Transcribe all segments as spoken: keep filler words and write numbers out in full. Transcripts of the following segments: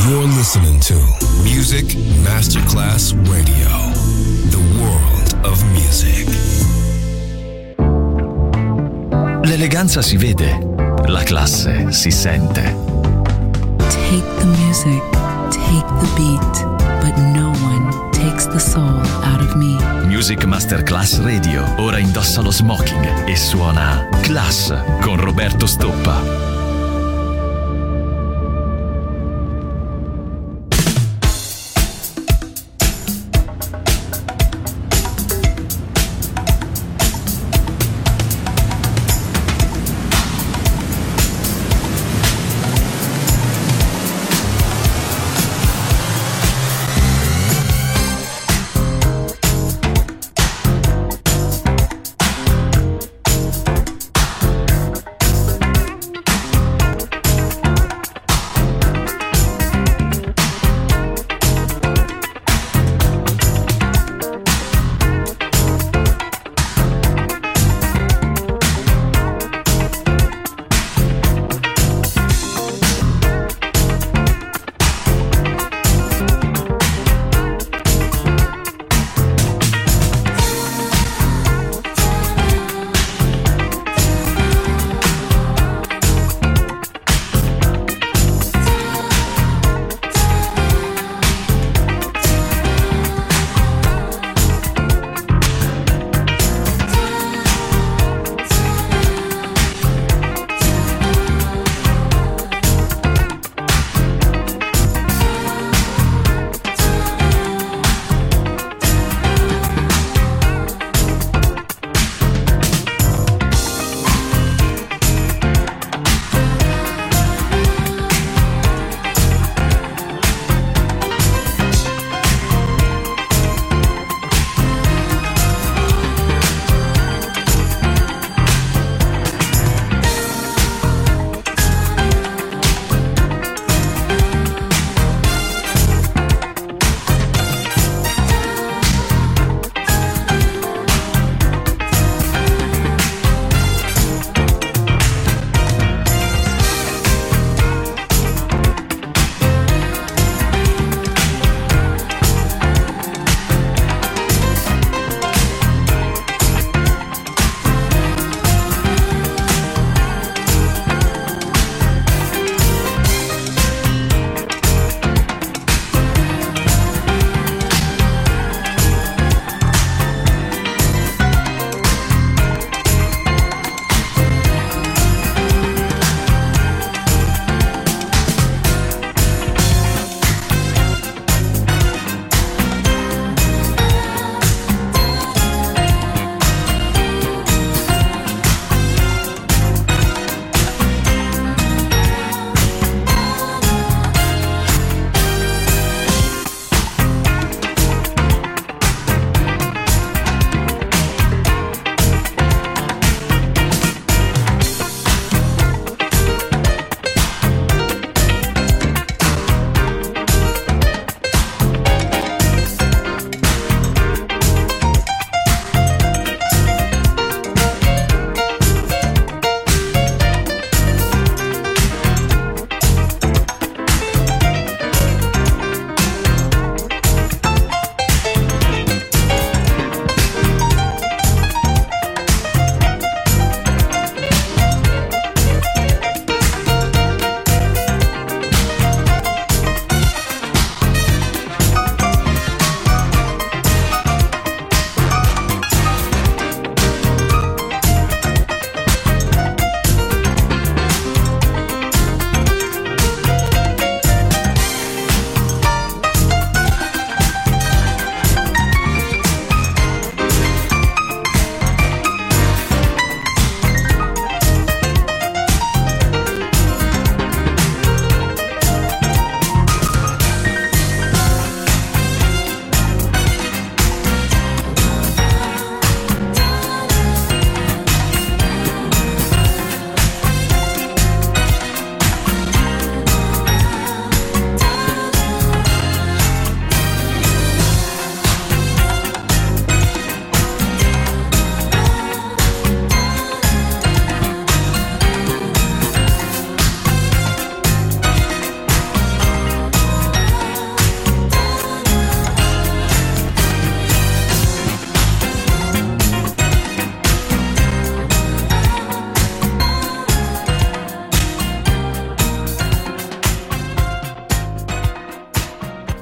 You're listening to Music Masterclass Radio, the world of music. L'eleganza si vede, la classe si sente. Take the music, take the beat, but no one takes the soul out of me. Music Masterclass Radio ora indossa lo smoking e suona Class con Roberto Stoppa.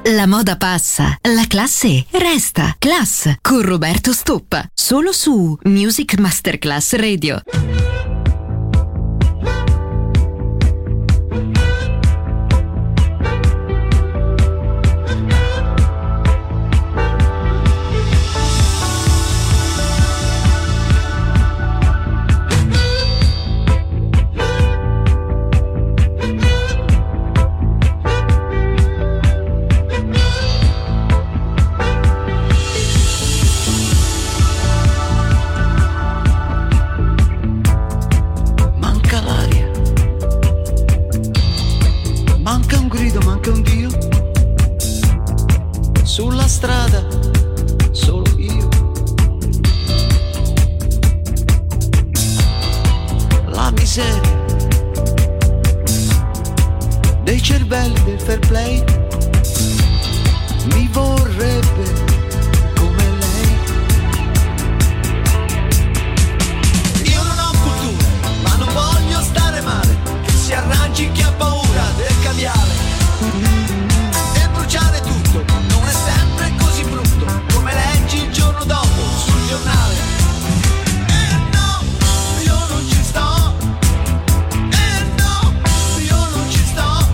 La moda passa, la classe resta. Class con Roberto Stoppa, solo su Music Masterclass Radio. Sulla strada solo io, la miseria dei cervelli del fair play mi vorrebbe come lei. Io non ho cultura, ma non voglio stare male, che si arrangi chi ha paura del caviale e bruciare tutto. Non è sempre così brutto come leggi il giorno dopo sul giornale. Eh no, io non ci sto. Eh no, io non ci sto.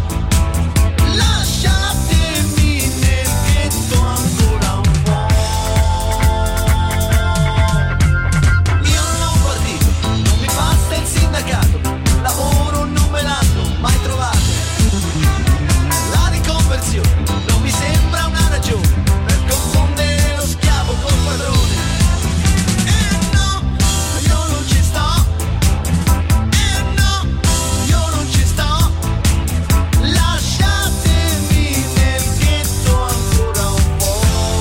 Lasciatemi nel ghetto ancora un po'. Io non ho un partito, non mi basta il sindacato, lavoro non me l'hanno mai trovato. La riconversione non mi sembra una ragione per confondere lo schiavo col padrone. Eh no, io non ci sto. Eh no, io non ci sto. Lasciatemi nel ghetto ancora un po'.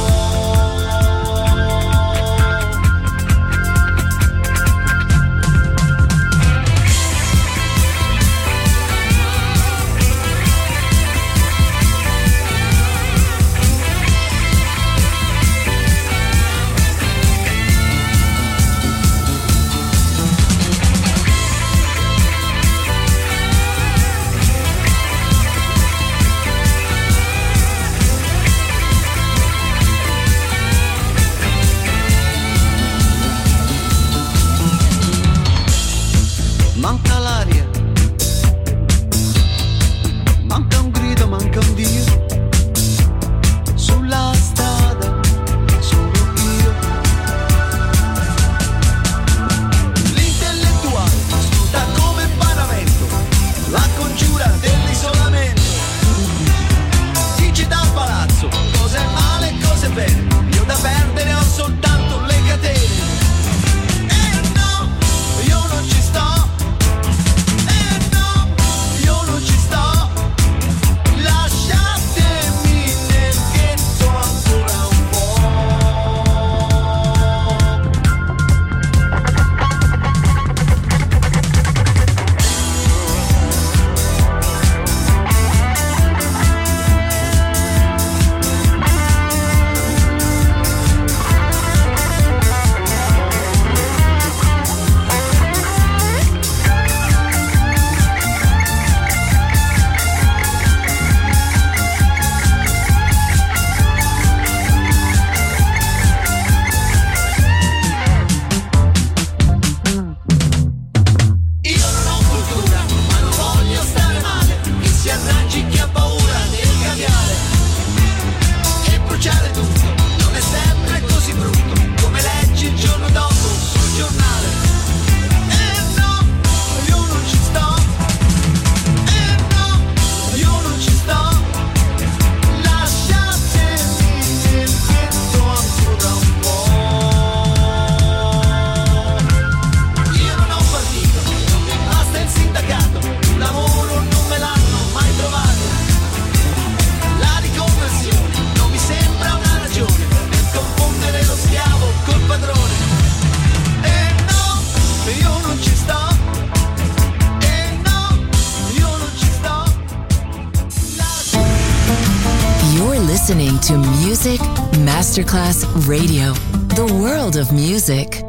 Manca l'aria, manca un grido, manca un Dio. Sulla strada solo io. L'intellettuale sputa come paravento, la congiura dell'isolamento. Dice dal palazzo cosa è male e cosa è bene. Io da perdere ho soltanto le catene. Eh no, io non ci sto. Eh no, io non ci sto. Lasciatemi nel ghetto ancora un po'. Io non ho cultura, ma non voglio stare male, che si arrangi chi ha paura del caviale e bruciare tutto. Non è sempre così brutto come leggi il giorno dopo sul giornale. Eh no, io non ci sto. Eh no, io non ci sto. Lasciatemi nel ghetto ancora un po'. Io non ho un partito, non mi basta il sindacato, un lavoro non me l'hanno mai trovato. La riconversione non mi sembra una ragione per confondere lo schiavo col padrone. Eh no, io non ci sto. Eh no, io non ci sto. You're listening to Music Masterclass Radio, the world of music.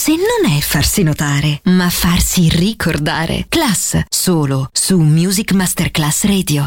classe non è farsi notare, ma farsi ricordare. Class, solo su Music Masterclass Radio.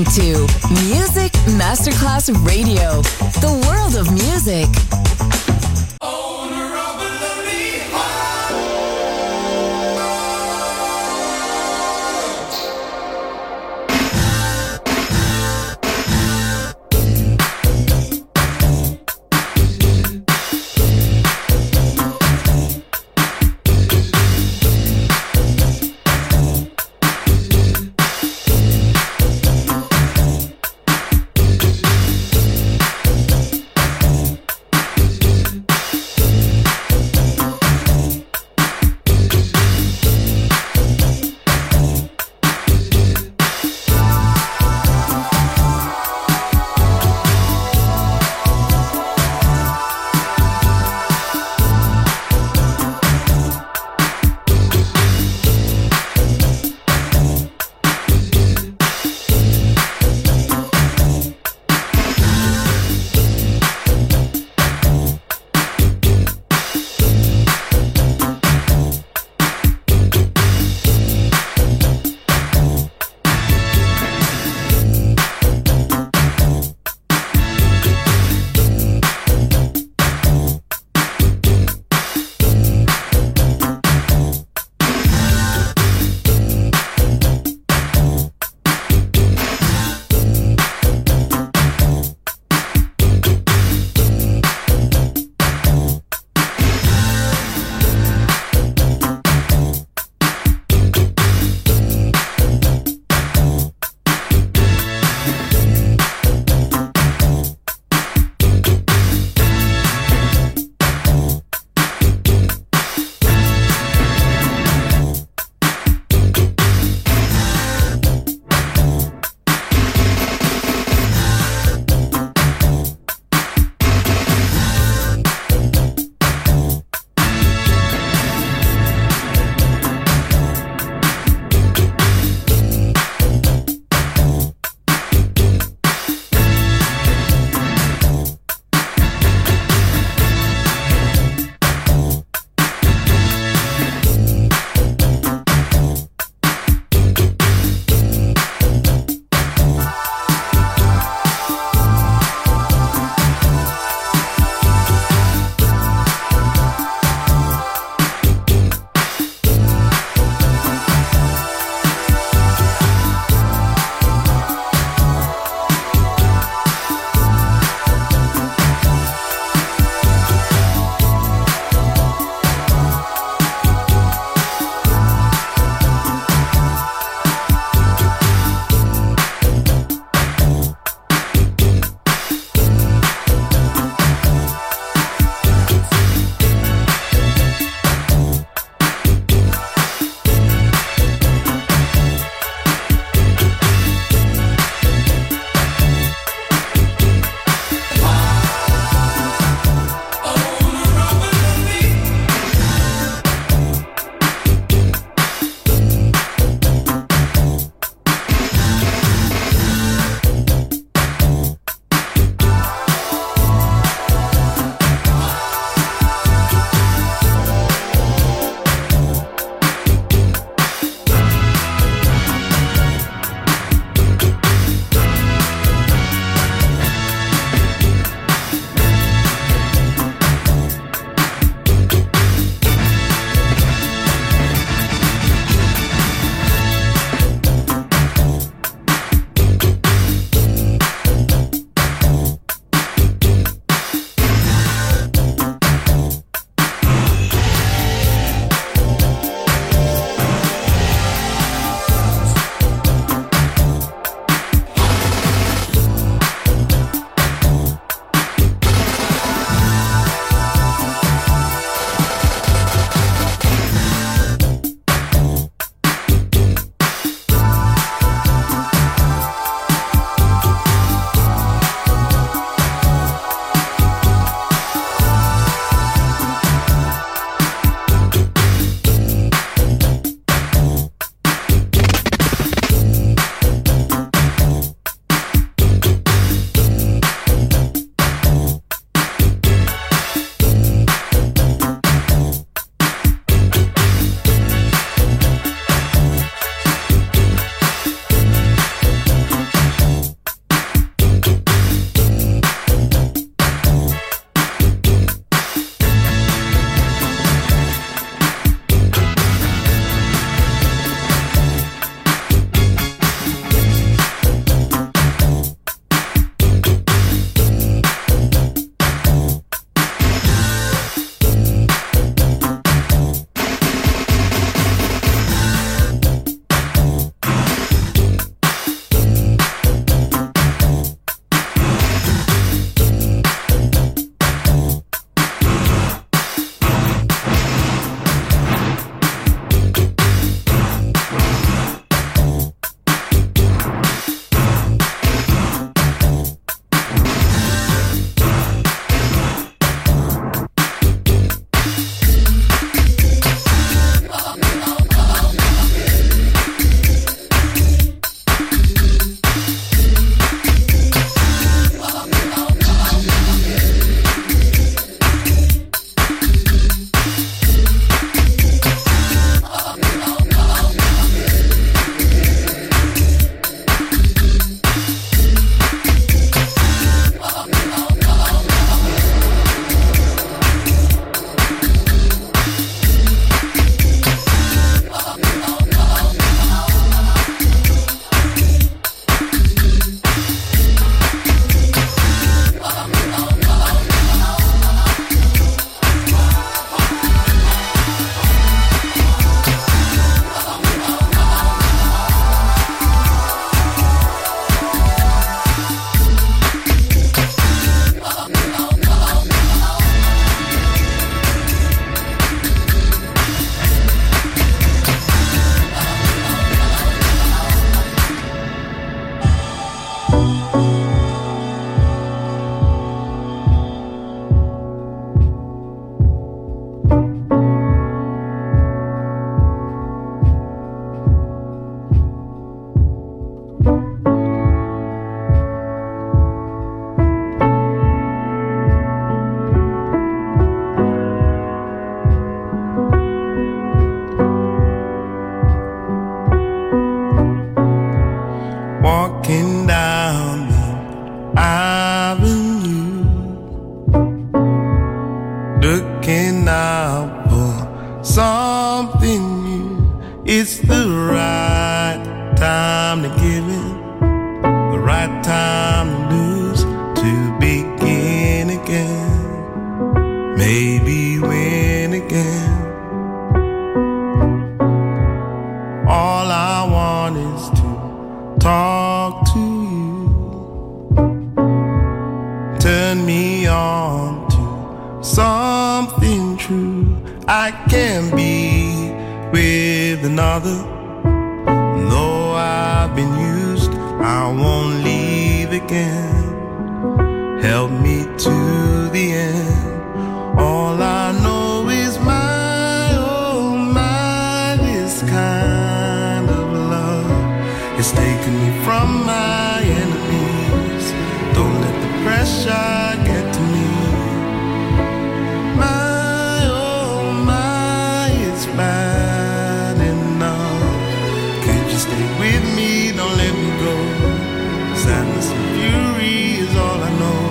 listening to Music Masterclass Radio, the world of music. out for something new. It's the right time to give in, the right time to lose, to begin again, maybe win again. All I want is to talk to you, turn me on to something true. I can be with another, though I've been used, I won't leave again. Help me to the end. All I know is my, oh my, this kind of love is taking me from my enemies. Don't let the pressure get to me. My, oh my, it's bad enough. Could you stay with me? Don't let me go. Sadness and fury is all I know.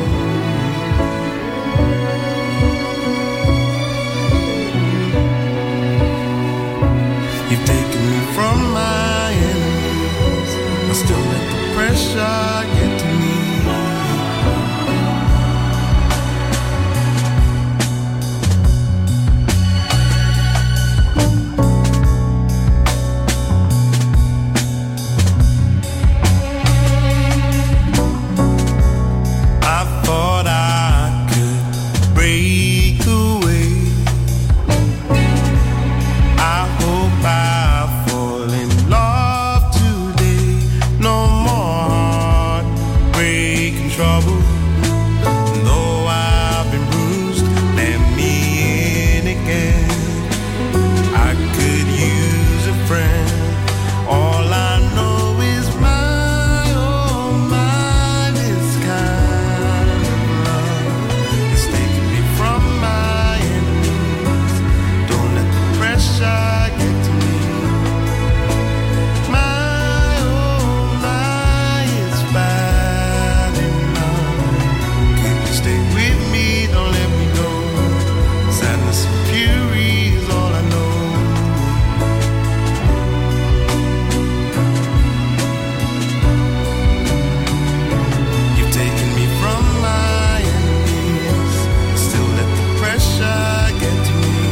You've taken me from my enemies. I still let the pressure get to me. I thought I could break away. I hope I fall in love today. No more heartbreak and trouble. Though I've been bruised, let me in again. I could use a friend. All I know is my, oh my, this kind of love is taking me from my enemies. Don't let the pressure get to me. My, oh my, it's bad enough. Could you stay with me? Don't let me go. Sadness and fury is all I know. You've taken me from my enemies. Still let the pressure get to me.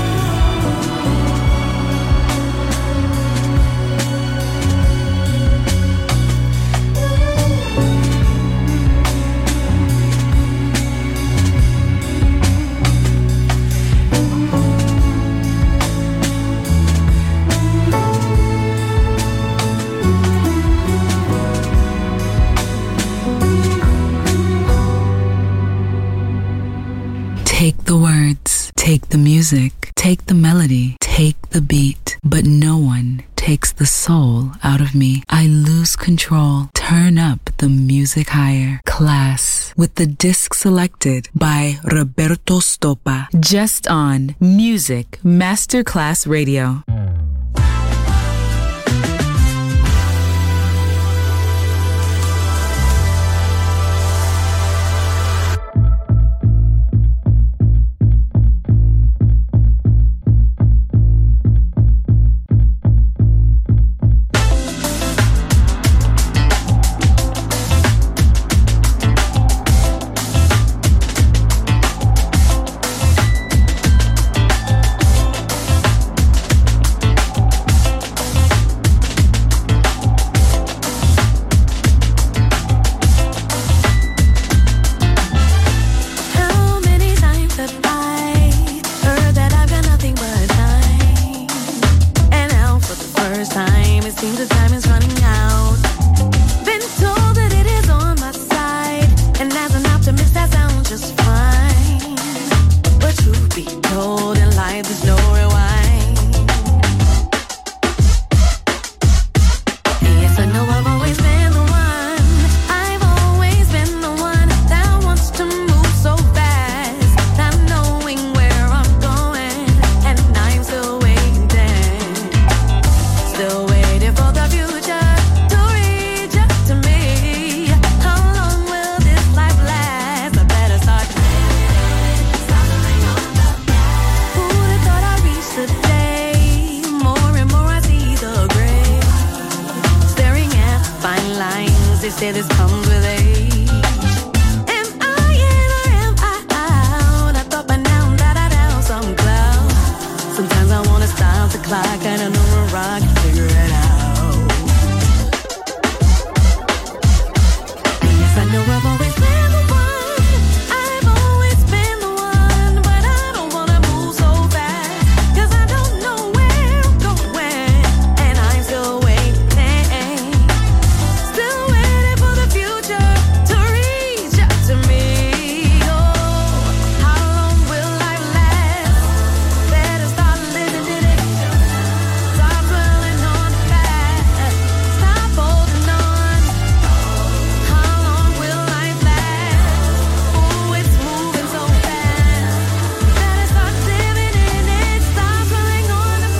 Take the words, take the music, take the melody, take the beat, but no one takes the soul out of me. I lose control. Turn up the music higher. Class with the disc selected by Roberto Stoppa. Just on Music Masterclass Radio. say this comes with age. Am I in or am I out? I thought by now that I down some cloud. Sometimes I wanna stop the clock and I know where I can figure it out. Yes, I know I've always been the one. I've always been the one, but I don't wanna move so fast, 'cause I don't know where I'm going, and I'm still waiting, still waiting for the future to reach out to me. Oh, how long will life last? Better start living in it. Stop dwelling on the past. Stop holding on. How long will life last? Oh, it's moving so fast. Better start living in it. Stop dwelling on the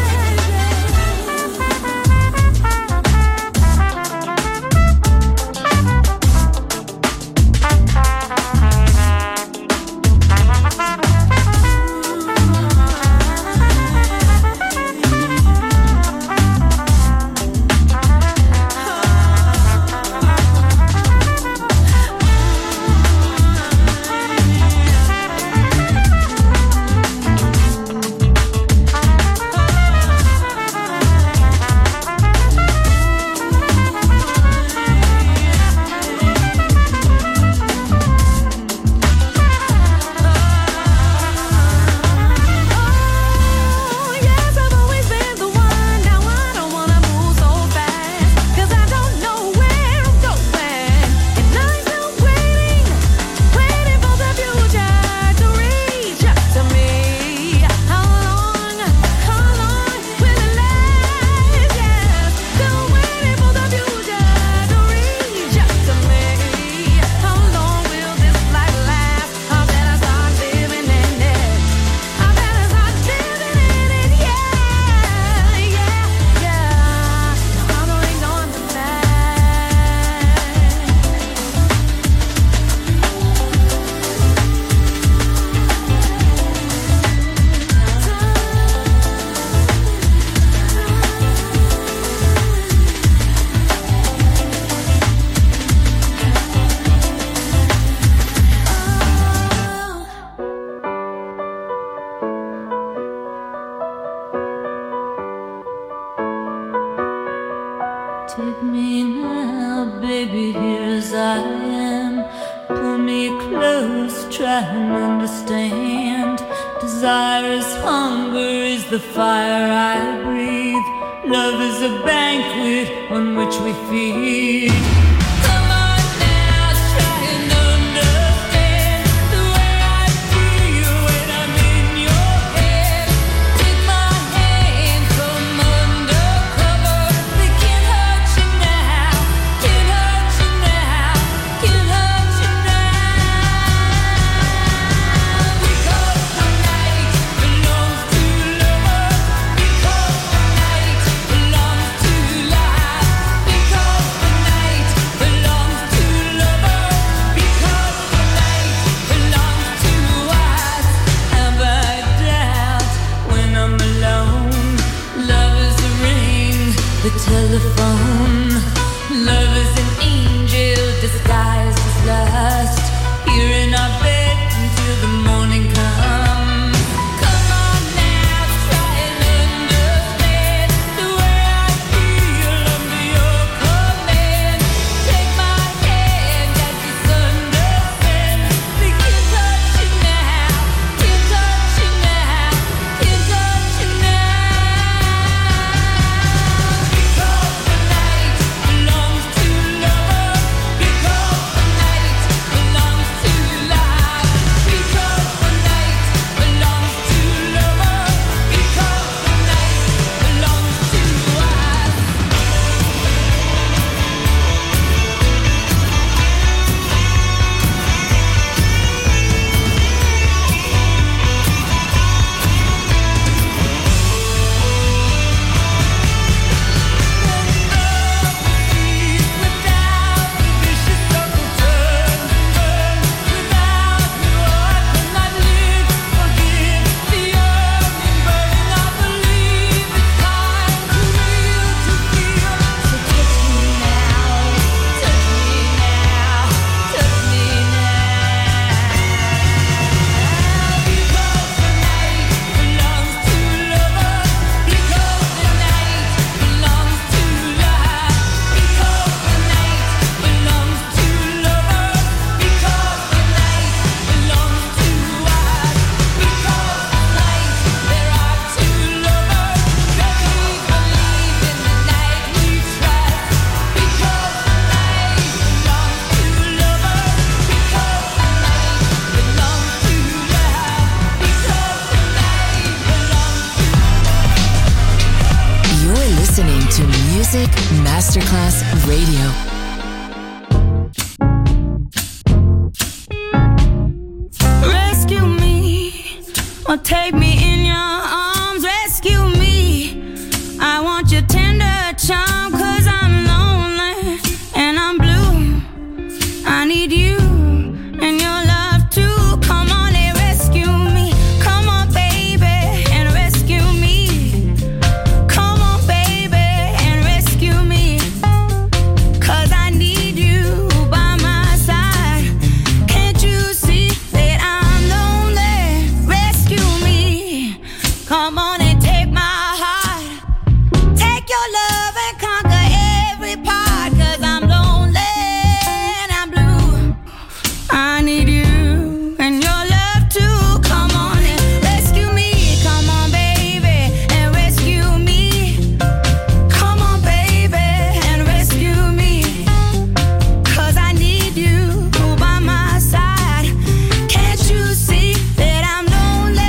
Take me now, baby, here as I am. Pull me close, try and understand. Desire is hunger, is the fire I breathe. Love is a banquet on which we feed. Come on now, try and understand the way I feel when I'm in your head. Take my hand from undercover. They can't hurt you now, can't hurt you now, can't hurt you now. Because the night belongs to lovers. Because the night belongs to life. Because the night Music Masterclass Radio. Rescue me, or take me in your arms. Rescue me, I want your tender charm, 'cause I'm lonely and I'm blue. I need you and your love too. Come on and rescue me. Come on, baby, and rescue me. Come on, baby, and rescue me. 'Cause I need you by my side. Can't you see that I'm lonely? Rescue me. Come on and take my heart. Take your love and conquer every part. 'Cause I'm lonely and I'm blue. I need you and your love too. Come on and rescue me. Come on, baby, and rescue me. Come on, baby, and rescue me. 'Cause I need you by my side. Can't you see that I'm lonely?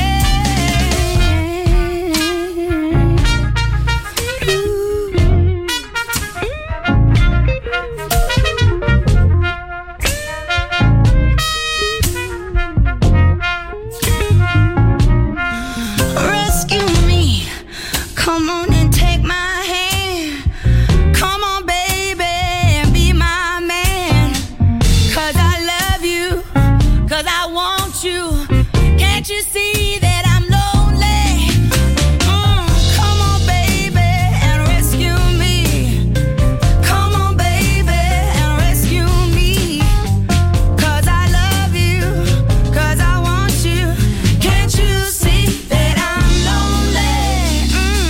Rescue me. Come on and take my hand. Come on, baby, and be my man. 'Cause I love you, 'cause I want you. Can't you see that I'm lonely? Mm, come on, baby, and rescue me. Come on, baby, and rescue me. 'Cause I love you, 'cause I want you. Can't you see that I'm lonely?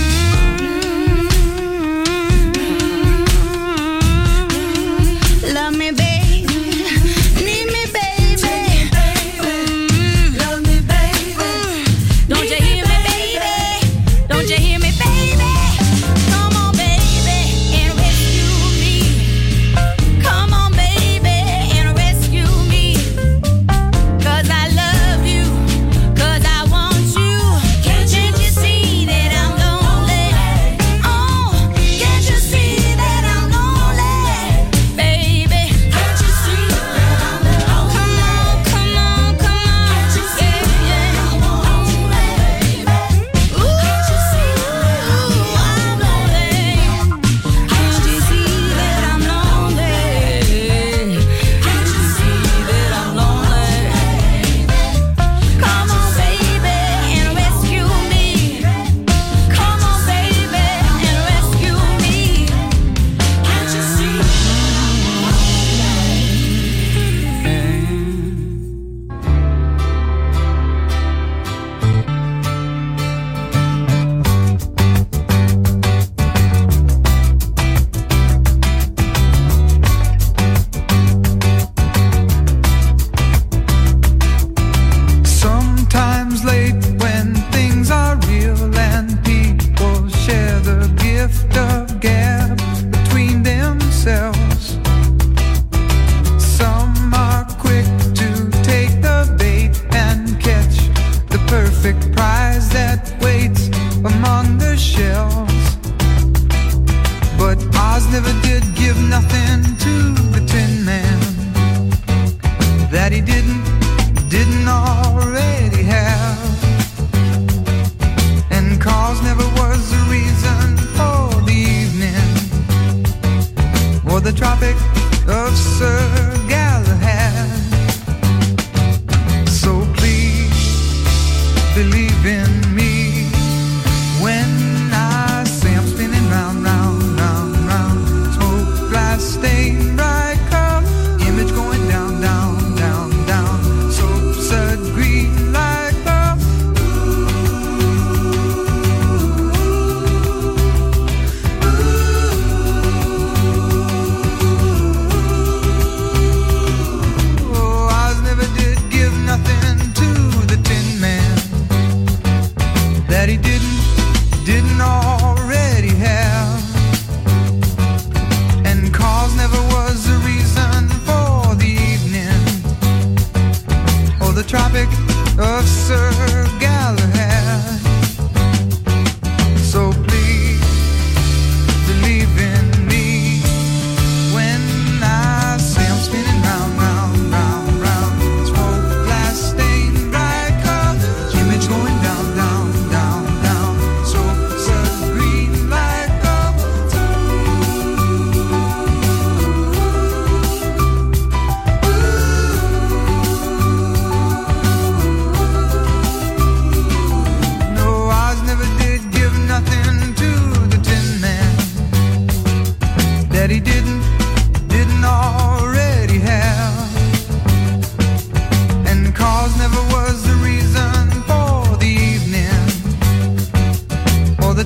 Mm. Love me, baby. Need me, baby. Mm. Love me, baby. Don't you hear me, baby? Don't you hear me, baby? Come on, baby, and rescue me. Come on, baby, and rescue me. 'Cause I love you, 'cause I want you. Can't you see that I'm lonely? Oh, can't you see that I'm lonely, baby? Can't you see that I'm lonely? Come on, come on, come on. Can't you see that I'm lonely, baby? Ooh, can't you see that I'm lonely? Can't you see that I'm lonely? Can't you see that I'm lonely? Come on, baby, and rescue me. Come on, baby, and rescue me. Can't you see? Sometimes late when things are real and people share the gift of gab between themselves. Some are quick to take the bait and catch the perfect prize that waits among the shelves. But Oz never did give nothing to the Tin Man that he didn't, didn't already have. And cause never was the reason for the evening or the Tropic of Sir Galahad. So please believe in me when I say I'm spinning round, round, round, round. Smoke, glass, stain, bright color, image going down, down, down, down. Soap, sud, green like the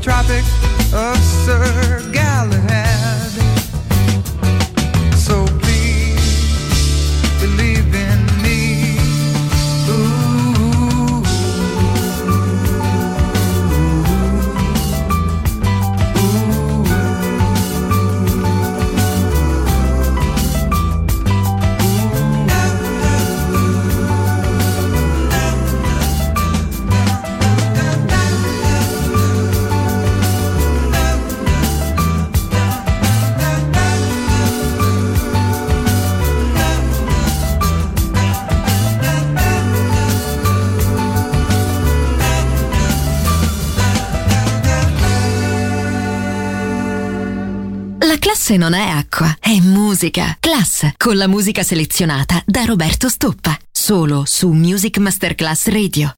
Tropic of Sir Galahad. So please believe in me. Ooh. Classe non è acqua, è musica. Class, con la musica selezionata da Roberto Stoppa. Solo su Music Masterclass Radio.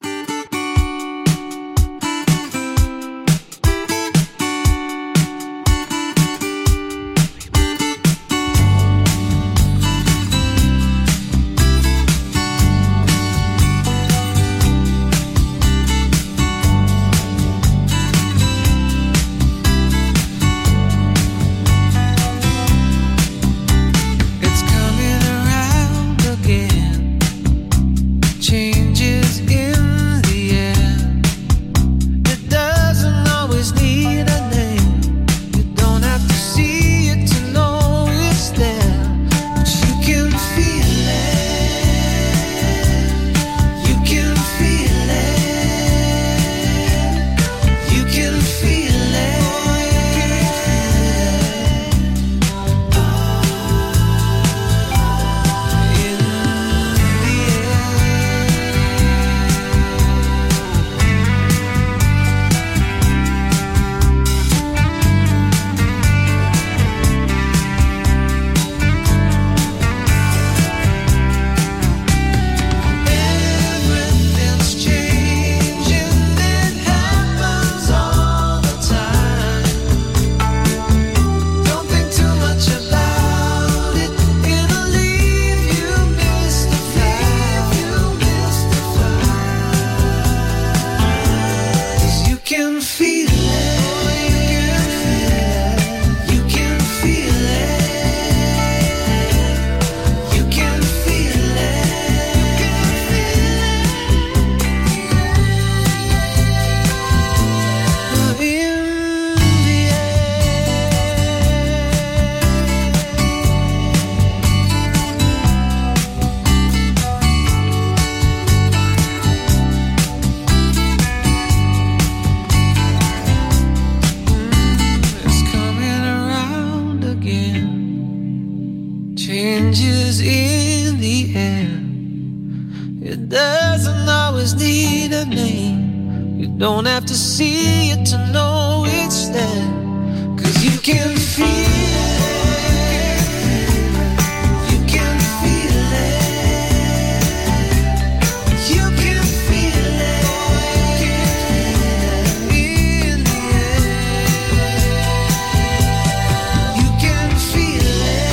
Changes in the air. It doesn't always need a name. You don't have to see it to know it's there. 'Cause you can feel it. You can feel it. You can feel it. In the air. You can feel it.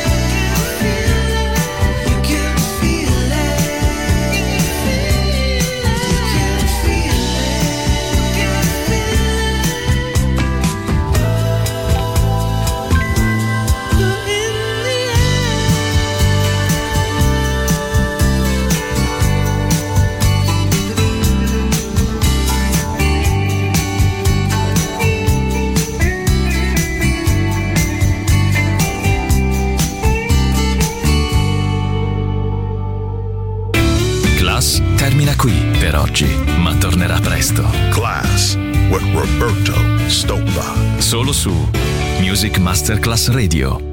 Termina qui per oggi, ma tornerà presto. Class with Roberto Stoppa. Solo su Music Masterclass Radio.